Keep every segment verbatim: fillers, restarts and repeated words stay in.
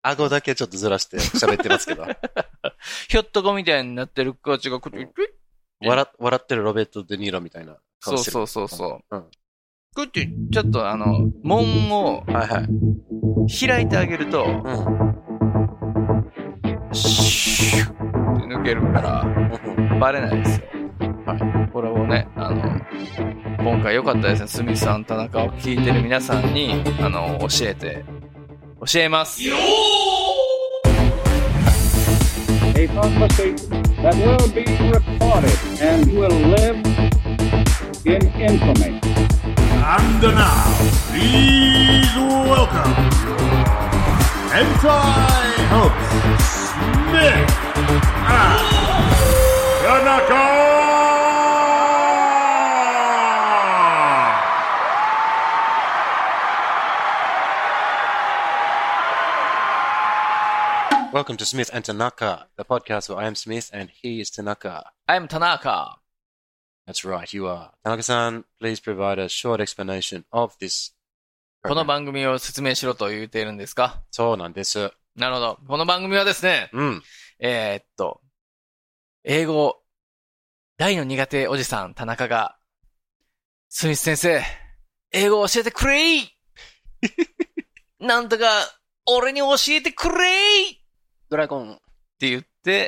顎だけちょっとずらして喋ってますけど。 ひょっとこみたいになってる子たちが、クックッ笑、笑ってるロベルト・デ・ニーロみたいな顔してる。 そうそうそうそう。 うん。 クッて、ちょっとあの、門をはいはい。 開いてあげると、 うん。 シュッって抜けるから、バレないですよ。はい。これをね、あの、今回良かったですね。スミスさん、田中を聞いてる皆さんに、あの、教えて、教えます。 A conversation that will be recorded and will live in infamy. And now, please welcome Hentai host Smith and Tanaka! Welcome to Smith and Tanaka, the podcast where I am Smith and he is Tanaka. I'm Tanaka. That's right, you are. Tanaka-san, please provide a short explanation of this. この番組を説明しろと言っているんですか？ そうなんです。 なるほど。この番組はですね、 うん。 えー、っと、英語、大の苦手おじさん、田中が、スミス先生、英語を教えてくれいなんとか、俺に教えてくれいドラゴンって言って、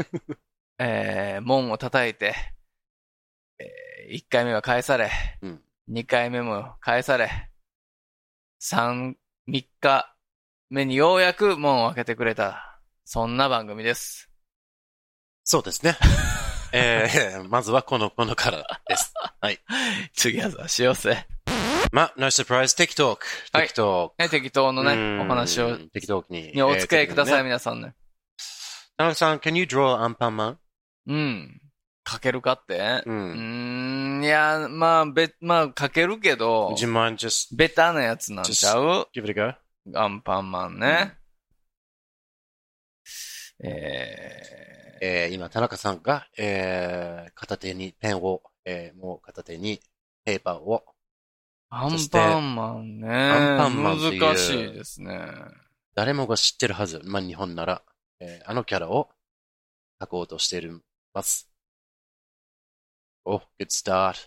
えー、門を叩いて、えー、いっかいめは返され、うん、にかいめも返され、三、三日目にようやく門を開けてくれた。そんな番組です。 そうですね。えー、まずはこの、このからです。はい。 次はしようぜ。 ま、no surprise, 適当。適当。 はい、適当のね、お話を。 適当に。 にお付き合いください、えーね、皆さんね。 田中さん、can you draw アンパンマン？ うん。書けるかって、うん、うーん、いや、まあ、べ、まあ、書けるけど、 Would you mind just, ベタなやつなんちゃう give it a go? アンパンマンね。うん、えー、えー、今、田中さんが、えー、片手にペンを、えー、もう片手にペーパーを。 アンパンマンね。アンパンマンっていう難しいですね。 誰もが知ってるはず。まあ、日本なら。えー、あのキャラを書こうとしています。お、good start.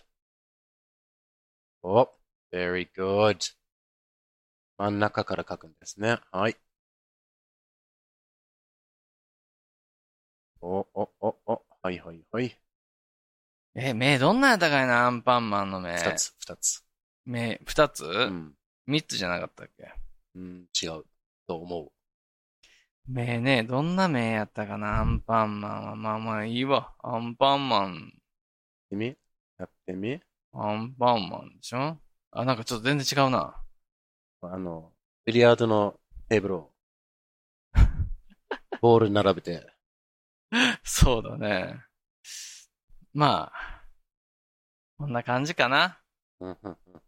お、very good. 真ん中から書くんですね。はい。お、お、お、お、はいはいはい。 え、目どんなやったかいな、アンパンマンの目。 二つ、二つ。 目、二つ？ うん。 三つじゃなかったっけ？ うん、違う。と思う。 目ね、どんな目やったかな、アンパンマンは。まあまあいいわ。アンパンマン。 やってみやってみアンパンマンでしょ？あ、なんかちょっと全然違うな。 あの、ビリヤードのテーブルを、ボール並べて。 そうだね。まあ、こんな感じかな。うんうんうん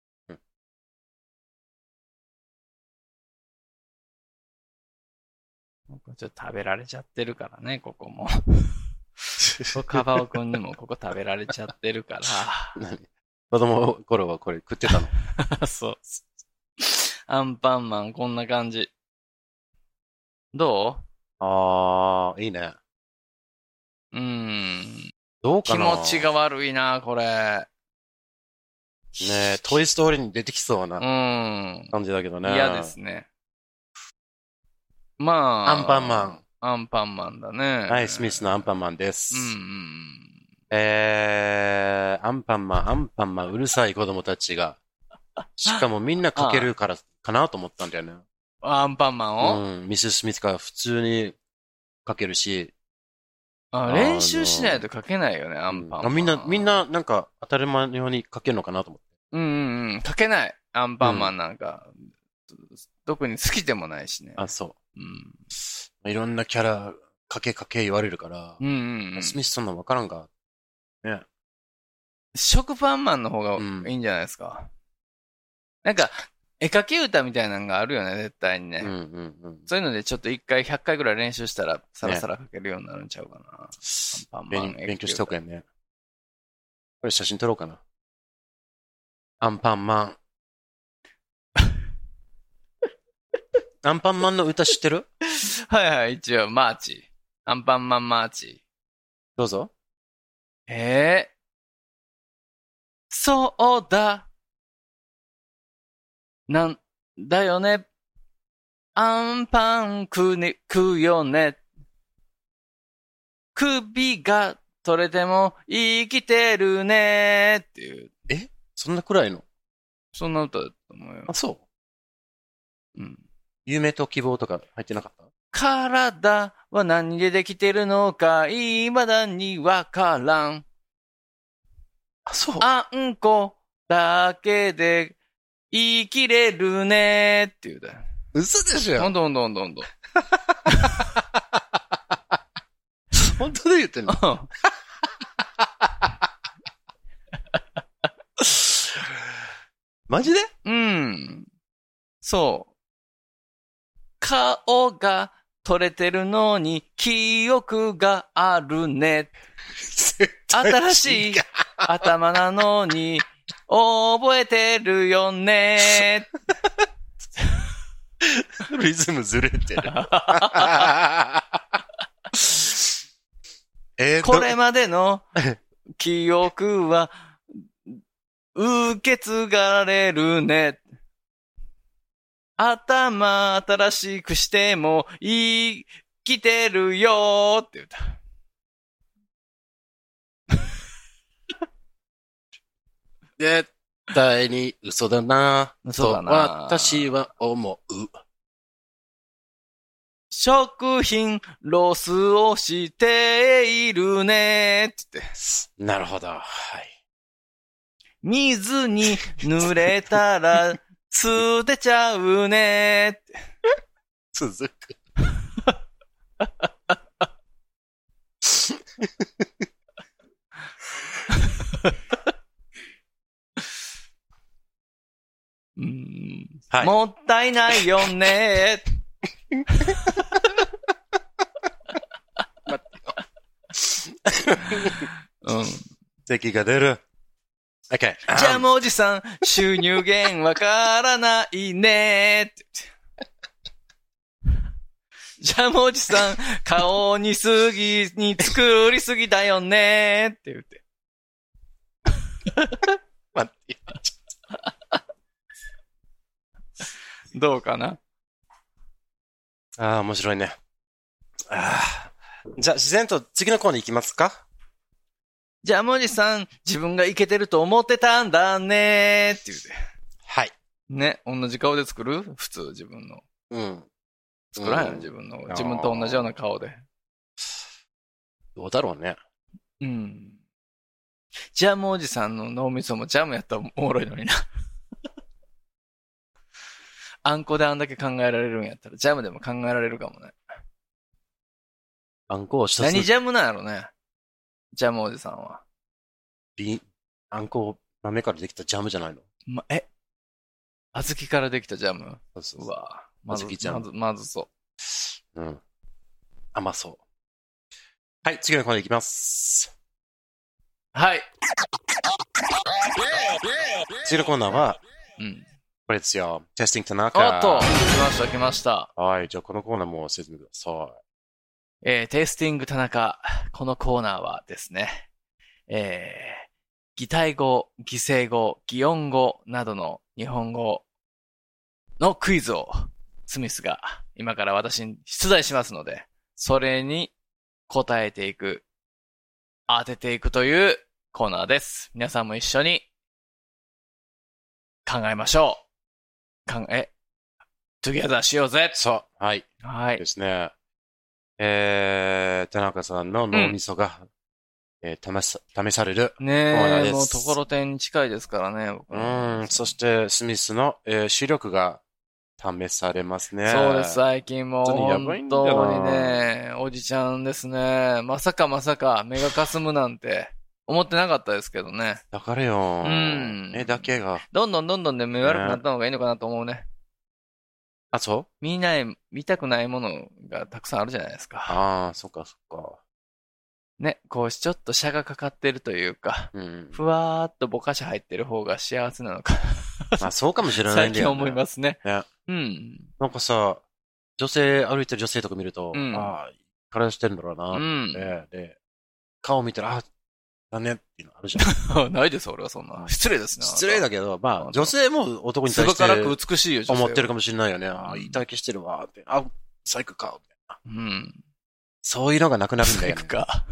ちょっと食べられちゃってるからね、ここも。カバオくんにもここ食べられちゃってるから。 何？子供の頃はこれ食ってたの？ そう。アンパンマンこんな感じ。どう？あー、いいね。 うーん。 どうかな？ 気持ちが悪いな、これ。ねえ、トイストーリーに出てきそうな感じだけどね。 嫌ですね。まあ。 アンパンマン。 アンパンマンだね。 はい、スミスのアンパンマンです。 うんうん、 えー、アンパンマン、アンパンマン、うるさい子供たちが。しかもみんな書けるからかなと思ったんだよね。 アンパンマンをうん、ミセス・スミスが普通に書けるし。 あ、練習しないと書けないよね、アンパンマン。 あ、みんな、みんななんか当たり前のように書けるのかなと思って。 うんうんうん、書けない。アンパンマンなんか。うん、特に好きでもないしね。 あ、そう。 うん、 いろんなキャラ、書け書け言われるから。 うんうんうん、 スミスそんなのわからんか。ね。 食パンマンの方がいいんじゃないですか。うん、なんか、絵描き歌みたいなのがあるよね、絶対にね。 うんうんうん、 そういうのでちょっと一回ひゃっかいぐらい練習したら、さらさら描けるようになるんちゃうかな。ね、アンパンマン勉勉強しとくやんね。これ写真撮ろうかな。アンパンマン。アンパンマンの歌知ってる？ はいはい、一応、マーチ。アンパンマンマーチ。 どうぞ。 ええー、そうだ。なんだよね。アンパン食うね、食うよね。首が取れても生きてるねっていう。 えそんなくらいのそんな歌だと思うよ。 あ、そう。 うん。 夢と希望とか入ってなかった？ 体は何でできてるのか、未だにわからん。 あ、そう。 あんこだけで生きれるねっていうだよ。 嘘でしょ。 ほんとほんとほんとほんと。 本当で言ってんの？マジで？ うん。そう。顔が取れてるのに記憶があるね。新しい頭なのに覚えてるよね。 リズムずれてる。えー、 これまでの記憶は受け継がれるね。頭新しくしても生きてるよーって言った。 絶対に嘘だなぁ。 嘘だなぁ。と私は思う。 食品ロスをしているねって言って。 なるほど。はい。 水に濡れたら捨てちゃうねって。 続く。 うーん、 はい、 もったいないよね。うん。 咳が出る。OK。 ジャムおじさん、収入源わからないねって。ジャムおじさん、顔にすぎに作りすぎだよねって言って。 待って。 どうかな？ ああ、面白いね。あじゃあ、自然と次のコーナー行きますか？ ジャムおじさん、自分がイケてると思ってたんだねって言うて。 はい。 ね、同じ顔で作る？普通、自分の。 うん。 作らんよ、自分の。自分と同じような顔で。 どうだろうね。 うん。ジャムおじさんの脳みそもジャムやったらおもろいのにな。あんこであんだけ考えられるんやったら、ジャムでも考えられるかもね。 あんこを一つ。 何ジャムなんやろね。ジャムおじさんは。 ビあんこ豆からできたジャムじゃないの？ ま、え小豆からできたジャム？ そうそうそう。 うわまず、 小豆ジャム。 まず、まずそう。 うん。甘そう。はい、次のコーナーいきます。 はい。 次のコーナーは、 うん。 これですよ。テスティング田中。 おっと、来ました、来ました。 はい、じゃあこのコーナーも説明ください。 えー、テイスティング田中。このコーナーはですね、えー、擬態語、擬声語、擬音語などの日本語のクイズをスミスが今から私に出題しますので、それに答えていく、当てていくというコーナーです。皆さんも一緒に考えましょう。考え、トゥギャザーしようぜ。 そう、はい。 はい。 ですね。えー、田中さんの脳みそが、うん、えー、試さ、試されるコーナーです。 ねえ、もうところてんに近いですからね。僕うん、そしてスミスの、えー、視力が試されますね。 そうです、最近もう本当にやばいんだな。 本当にね、おじちゃんですね。まさかまさか目がかすむなんて思ってなかったですけどね。 だからよ。 うん。 目だけが。 どんどんどんどんね、目悪くなった方がいいのかなと思うね。 あ、そう見ない、見たくないものがたくさんあるじゃないですか。 ああ、そっかそっか。 ね、こうしちょっと車がかかってるというか、うん、ふわーっとぼかし入ってる方が幸せなのかまあそうかもしれないんだよね。 最近思いますね。 ね。 うん。 なんかさ、 女性、歩いてる女性とか見ると、 うん、 ああ、体してるんだろうなって、うん、で、顔見たら、あ、だねっていうのあるじゃん。 ないです、俺はそんな。失礼ですね。 失礼だけど、まあ、女性も男に対して。 すばからく美しいよ、 思ってるかもしれないよね。ああ、いい体型してるわ、って。あ、最高か、みたいな。 うん。 そういうのがなくなるんだよね。 最高か。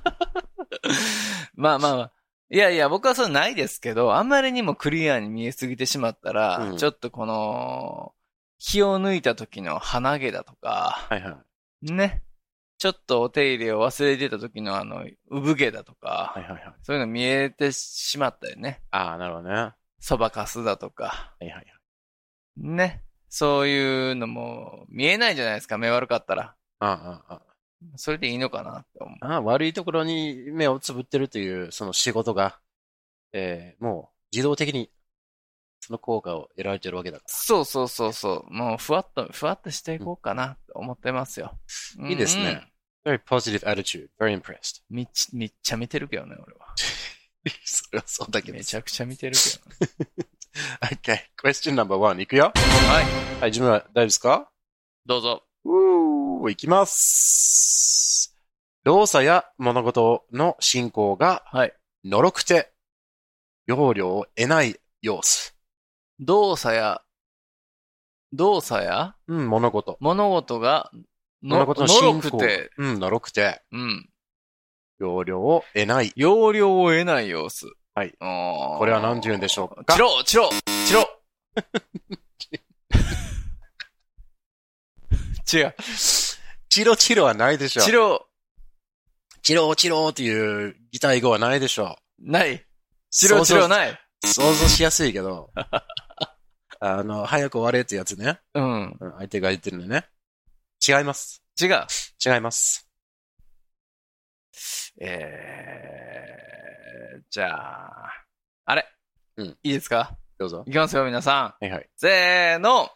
まあまあまあ。いやいや、僕はそうないですけど、あんまりにもクリアに見えすぎてしまったら、うん、ちょっとこの、気を抜いた時の鼻毛だとか、 はいはい。 ね。ちょっとお手入れを忘れてた時のあの、産毛だとか、 はいはいはい。 そういうの見えてしまったよね。 ああ、なるほどね。 そばかすだとか。 はいはいはい。 ね。そういうのも見えないじゃないですか、目悪かったら。 ああ、ああ。 それでいいのかなって思う。 ああ、悪いところに目をつぶってるという、その仕事が、えー、もう自動的にその効果を得られてるわけだから。 そうそうそうそう。もうふわっと、ふわっとしていこうかなと思ってますよ。 うん、いいですね。very positive attitude. Very impressed. めっちゃ、めっちゃ見てるけどね、俺は。 それはそうだけど。 めちゃくちゃ見てるけどね。 okay. Question number one. いくよ。 はい。 はい、自分は大丈夫ですか？ どうぞ。 うー、いきます。動作や物事の進行が、 はい。 のろくて、要領を得ない様子。 動作や、動作やうん、物事。 物事が、 の、物事の進行。 のろくて。 うん、のろくて。 うん。 要領を得ない。 要領を得ない様子。 はい。これは何て言うんでしょうか？ チロチロチロ違う。 チロチロはないでしょ。 チロ。 チロチロっていう擬態語はないでしょ。 ない。チロチロない。 想像しやすいけど。あの、早く終われってやつね。 うん。 相手が言ってるのね。違います。 違う。 違います。 えー、じゃあ、あれ。 うん。 いいですか？ どうぞ。 いきますよ、皆さん。はいはい。 せーの。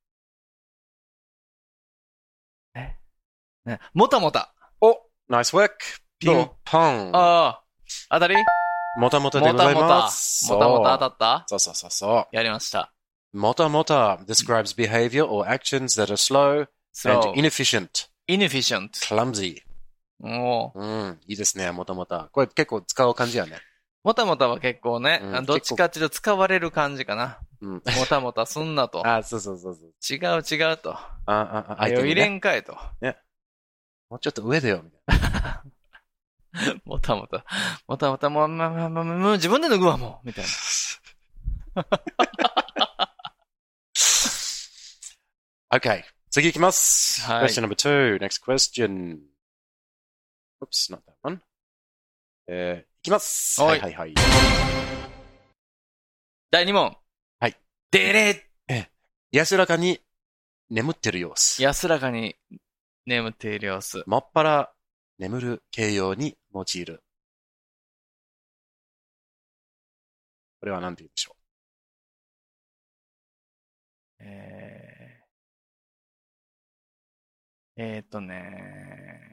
えね、もたもた。 お、ナイスワーク。ピンポン。 ああ、当たり？ もたもたでございます。 もたもた当たった？ そうそうそうそう。 やりました。 もたもた describes behavior or actions that are slow, slow. and inefficient. inefficient. clumsy. おうん、いいですね、もたもた。これ結構使う感じやね。 もたもたは結構ね、うん、どっちかっていうと使われる感じかな。 うん、 もたもたすんなと。 あ、そうそうそうそう。 違う違うと。 あ、あ、あ、 相手に、ね、入れんかいと。 ね。もうちょっと上だよ、みたいな。 もたもた。もたもた、もう、ま、ま、ま、もう自分で脱ぐわ、もう。みたいな。 okay. 次行きます。 はい。 question number two. Next question. Oops, not that one. えー、いきます。はいはいはい。 だいに問。 はい。 でれえ、安らかに眠ってる様子。 安らかに眠っている様子。 もっぱら眠る形容に用いる。これは何て言うでしょう。えー、えーっとね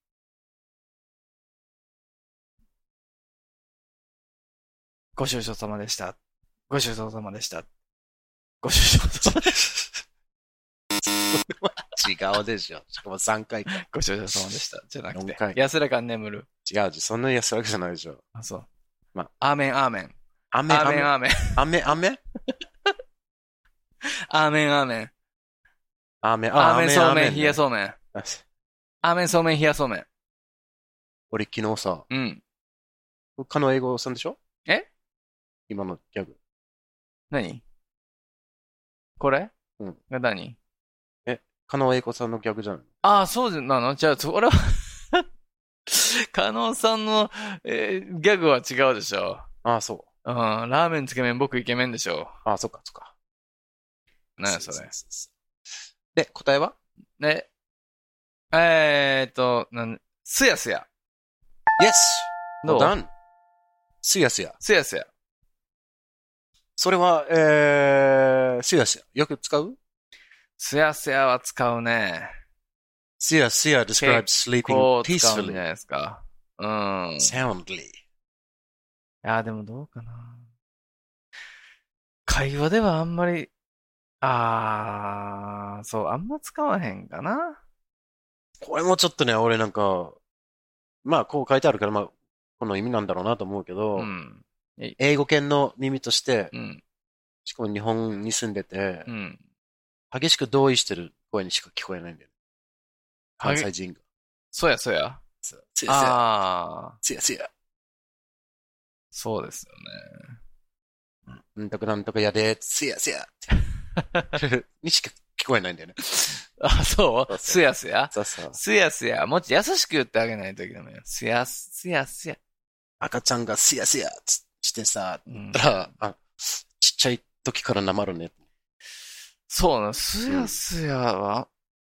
ご愁傷様でした。ご愁傷様でした。ご愁傷様でした。 違うでしょ。しかもさんかいか。 ご愁傷様でした。じゃなくて。 よんかい。 安らかに眠る。 違う。そんなに安らかじゃないでしょ。 あ、そう。 まあ、アーメン、アーメン。 アメン、 アーメン、アーメン。 アメン、アメンアーメン、アーメン。 アーメン、 アーメン、そうめん、冷やそうめん。アーメン、そうめん、冷やそうめん。 俺昨日さ、 うん。 かの英語さんでしょ？ え？ 今のギャグ。 何？これ？ うん。 が何？ え、かの英語さんのギャグじゃない？ ああ、そうなの？じゃあ、それはかのさんの、えー、ギャグは違うでしょ。 ああ、そう。 うん。ラーメン、つけ麺、僕イケメンでしょ。 ああ、そっか、そっか。 何やそれ。 で、答えは？ ね。えーっと、なん、すやすや。 Yes! どう？ Done! すやすや。 すやすや。 それは、えー、すやすや。よく使う？ すやすやは使うね。 すやすや describes sleeping 結構使うんじゃ peacefully. ないですか。うん。 soundly. いや、でもどうかな。会話ではあんまりあー、そう、あんま使わへんかな。 これもちょっとね、俺なんか、まあ、こう書いてあるから、まあ、この意味なんだろうなと思うけど、 うん。 英語圏の耳として、 うん。 しかも日本に住んでて、 うん。 激しく同意してる声にしか聞こえないんだよね。関西人が。 そうや、そうや。 つやつや。 あー。 つやつや。 そうですよね。 うんとかなんとかやで、つやつや。にしか聞こえないんだよね。 あ、そうすやすやそうそう。 すやすや。もっと優しく言ってあげないといけないよ。すやす、すやすや。 赤ちゃんがすやすやつしてさ、 うん、 だからあ、ちっちゃい時からなまるね。 そうな、すやすやは、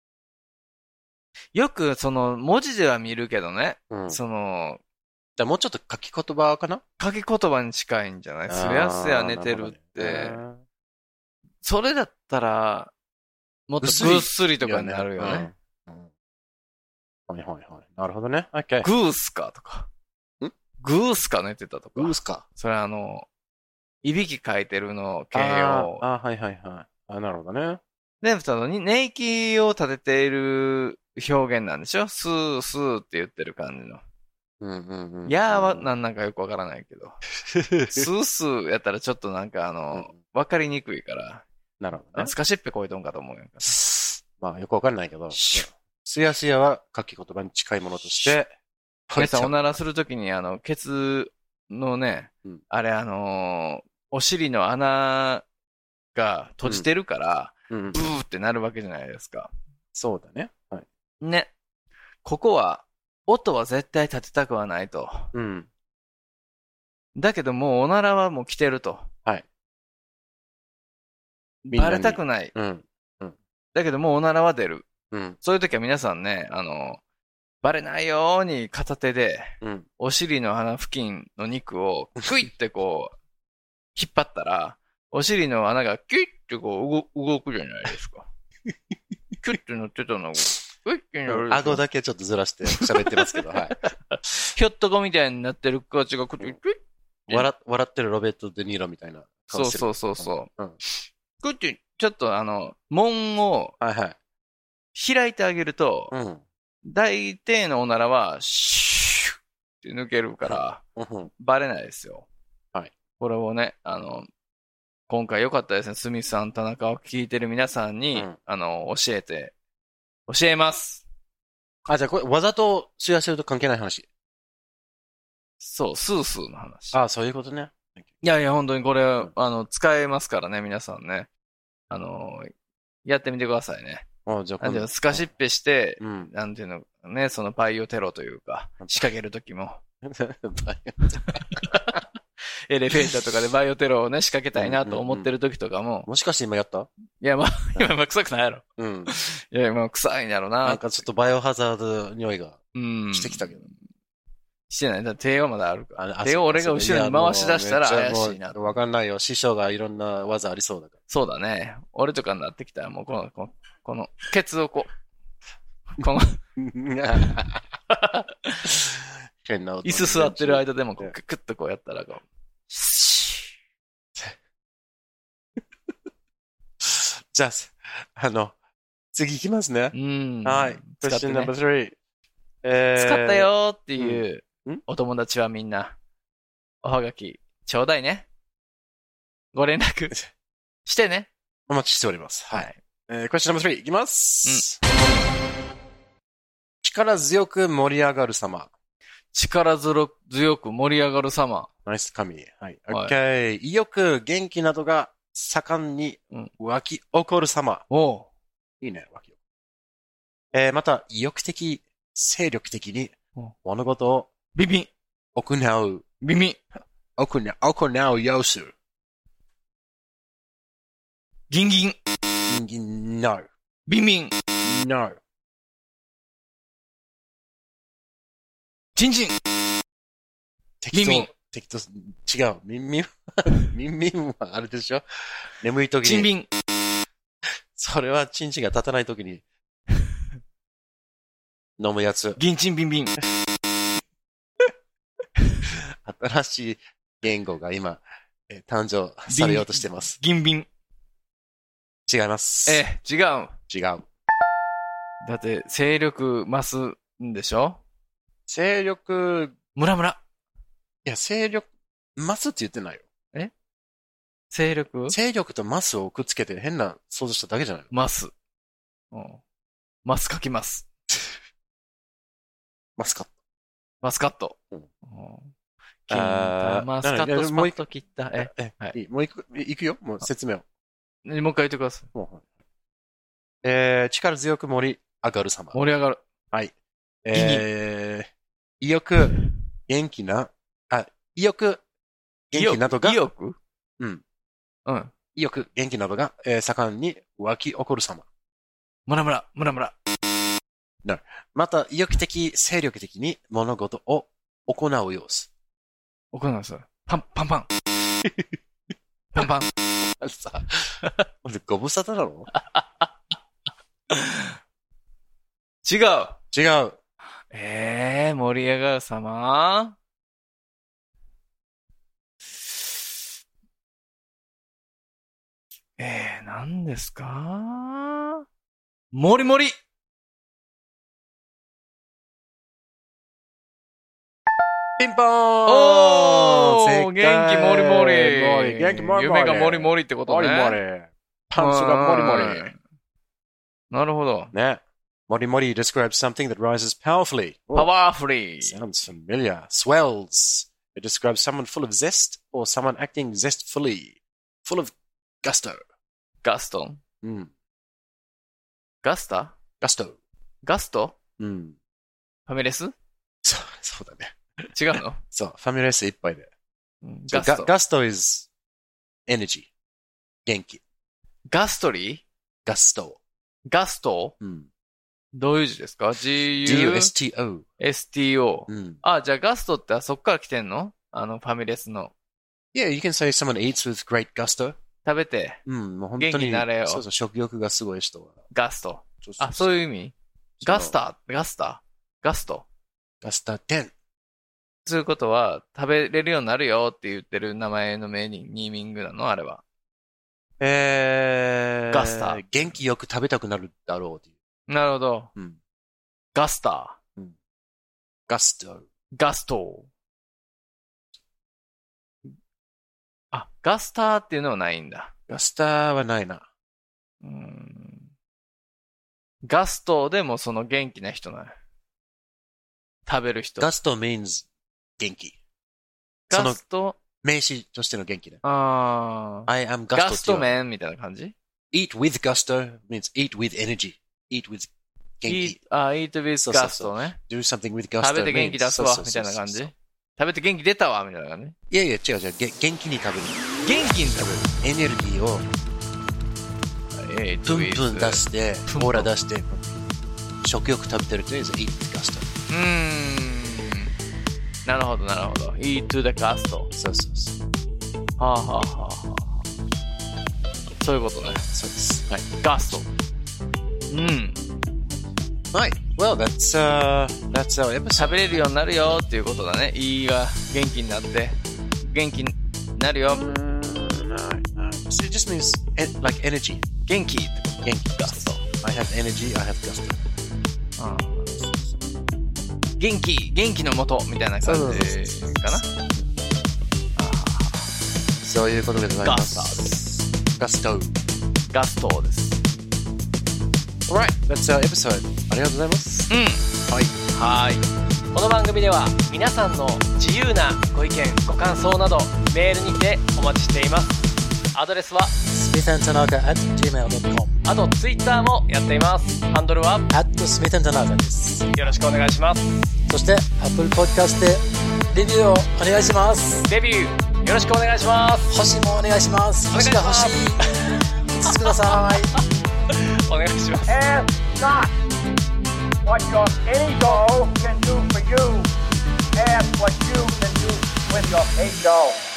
うん、よくその文字では見るけどね。うん、その、 だもうちょっと書き言葉かな書き言葉に近いんじゃないすやすや寝てるって。それだったら、もっとぐっすりとかになるよね。うんうん、 はいはいはい。なるほどね。Okay、 グースかとか。んグースか寝てたとか。 グースか。 それあの、いびき書いてるの形容。 ああ、はいはいはい。あ、なるほどね。 で、その、寝息を立てている表現なんでしょスースーって言ってる感じの。 うんうんうん。 やーはなんなんかよくわからないけど。スースーやったらちょっとなんかあの、わ、うん、かりにくいから。 なるほどね。 スカシッペこいとんかと思うよ。 まあよくわかんないけど。すやすやは書き言葉に近いものとして。 これさ、おならするときにあの、ケツのね、うん、あれあのー、お尻の穴が閉じてるから、うんうん、ブーってなるわけじゃないですか。 そうだね。はい。 ね。ここは、音は絶対立てたくはないと。うん。だけどもうおならはもう来てると。 はい。 バレたくない。 うん。うん。 だけどもうおならは出る。 うん。 そういう時は皆さんね、あの、バレないように片手で、うん、お尻の穴付近の肉をクイってこう、引っ張ったら、お尻の穴がキュイってこう動、動くじゃないですか。キュイって乗ってたのが、クイってなる。 顎だけちょっとずらして喋ってますけど、はい。 ひょっとこみたいになってる子たちがクイックイッ笑、笑ってるロベット・デ・ニーロみたいな顔してる。そうそうそうそう。うん。クイッて、ちょっとあの、門を、はいはい。開いてあげると、うん。大抵のおならは、シューって抜けるから、うん、バレないですよ。はい。これをね、あの、今回良かったですね。スミスさん、田中を聞いてる皆さんに、うん、あの、教えて、教えます。 あ、じゃあこれ、わざとシェアしてると関係ない話。 そう、スースーの話。 あ、そういうことね。 いやいや、本当にこれ、うん、あの、使えますからね、皆さんね。あの、やってみてくださいね。 あじゃあなんていうの、スカシッペして、うん、なんていうの、ね、そのバイオテロというか、仕掛けるときも。エレベーターとかでバイオテロをね、仕掛けたいなと思ってるときとかも、うんうんうん。 もしかして今やった？ いや、まあ、今、まあ、臭くないやろ。うん。いや、まあ、臭いんやろな。 なんかちょっとバイオハザード匂いがしてきたけど。うん、 してない。だ手はまだあるから。手を俺が後ろに回し出したら怪しいな。 わかんないよ。師匠がいろんな技ありそうだから。 そうだね。俺とかになってきたら、もうこの、この、このケツをこう、この、 変な椅子座ってる間でもこう、ククッとこうやったらこう、 じゃあ、あの、次行きますね。うん。はい。Question number three。 えー、使ったよーっていうお友達はみんな、おはがき、ちょうだいね。ご連絡してね。 お待ちしております。はい。えー、Question number three いきます。うん、力強く盛り上がる様。 力強く盛り上がる様。 ナイス神。はい。OK、はい。意欲、元気などが盛んに湧き起こる様。 うん、おう。いいね、湧き起こる。えー、また、意欲的、精力的に物事をビビン行う。 ビビン行う、行う様子。 ギンギン。 ギンギン、no。 ビビン。 no。 チンチン。 適当。適当。違う。ミンミン。ミンミンはあれでしょ？眠い時に。 チンビン。 それはチンチンが立たない時に飲むやつ。 ギンチンビンビン。 新しい言語が今、えー、誕生されようとしてます。 ギンビン。 違います。 え、違う。 違う。 だって、勢力増すんでしょ？ 勢力、 ムラムラ。 いや、勢力、マスって言ってないよ。 え？勢力？ 勢力とマスをくっつけて変な想像しただけじゃないの？ マス。うん。マス書きます。 マスカット。 マスカット。 うん。 金太マスカットスパッと切った。え、 え、はい。もういく、いくよもう説明を。 もう一回言ってください。 えー、力強く盛り上がる様。 盛り上がる。 はい。えー、意欲、元気な、あ、意欲、元気などが、 意欲？ うん。 うん。 意欲、元気などが、えー、盛んに湧き起こる様。 ムラムラ、ムラムラ。 なまた、意欲的、精力的に物事を行う様子。 行う様子。パン、パンパン。パンパン。 さ、俺ご無沙汰なの？ 違う。 違う。 えー、盛り上がる様？えー、何ですか？もりもり。 ピンポーン。 おー、元気もりもり。 元気もりもり。 夢がもりもりってことね。 もりもり。パンツがもりもり。 なるほど。 ね。もりもり describes something that rises powerfully. Powerfully. Sounds familiar. Swells. It describes someone full of zest or someone acting zestfully. Full of gusto. ガスト。 うん。 ガスタ？ ガスト。 ガスト？ うん。 ファミレス？ そう、そうだね。 違うの？ そう、ファミレス一杯で。 ガスト。 ガスト is energy. 元気。 ガストリー？ ガスト。 ガスト？ うん。 どういう字ですか？ G-U？ ジーユーエスティーオー。 エスティーオー。 うん。 あ、じゃあガストってあそっから来てんの？あの、ファミレスの。 Yeah, you can say someone eats with great gusto. 食べて。 うん、もう本当に。 元気になれよ。 そうそう、食欲がすごい人は。 ガスト。 そうそうそうあ、そういう意味？ガスター、ガスター、ガスト。 ガスターテン。 そういうことは、食べれるようになるよって言ってる名前のメニーミングなの？あれは。 えー、 ガスター。 元気よく食べたくなるだろうっていう。 なるほど。 うん。 ガスター。 うん。ガスト。 ガスト。あ、ガスターっていうのはないんだ。 ガスターはないな。 うーん。ガストでもその元気な人なの。食べる人。 ガスト means 元気。 ガスト名詞としての元気ね。 ああ。 I am gusto. ガストメンみたいな感じ？ Eat with gusto means eat with energy. Eat with 元気。 Eat, あ、eat with ガストね。 Do something with gusto. 食べて元気出すわ、みたいな感じ。食べて元気出たわ、みたいな感じ。 いやいや、違う違う。元気に食べる。 元気に食べる。 エネルギーを、 えー、 プンプン出して、オーラ出して、食欲食べてるというのは eat with gusto。 うーん。なるほど、なるほど。eat to the gusto。 そうそうそう。 はあはあはあはあ。そういうことね。 そうです。はい。 ガスト。うん。 はい。Well, that's, uh, that's our episode. 食べれるようになるよっていうことだね。いいが元気になって。元気になるよ。 Mm, no, no. So it just means, like, energy. 元気ってこと。 元気。ガスト。I have energy, I have gusto. ああ。元気、元気のもとみたいな感じかな。 そういうことでございます。ガストです。 ガスト。ガストです。 Alright, that's our episode. ありがとうございます。 うん。 はい。 はい。この番組では皆さんの自由なご意見、ご感想などメールにてお待ちしています。アドレスはスミス アンドタナカ アット ジーメール ドットコムあとツイッターもやっています。ハンドルはアット スミス アンドタナカ です。 よろしくお願いします。 そして Apple Podcast でレビューをお願いします。 レビューよろしくお願いします。 星もお願いします。星が欲しい。いつつください。 お願いします。 Ask not what your ego can do for you. Ask what you can do with your ego.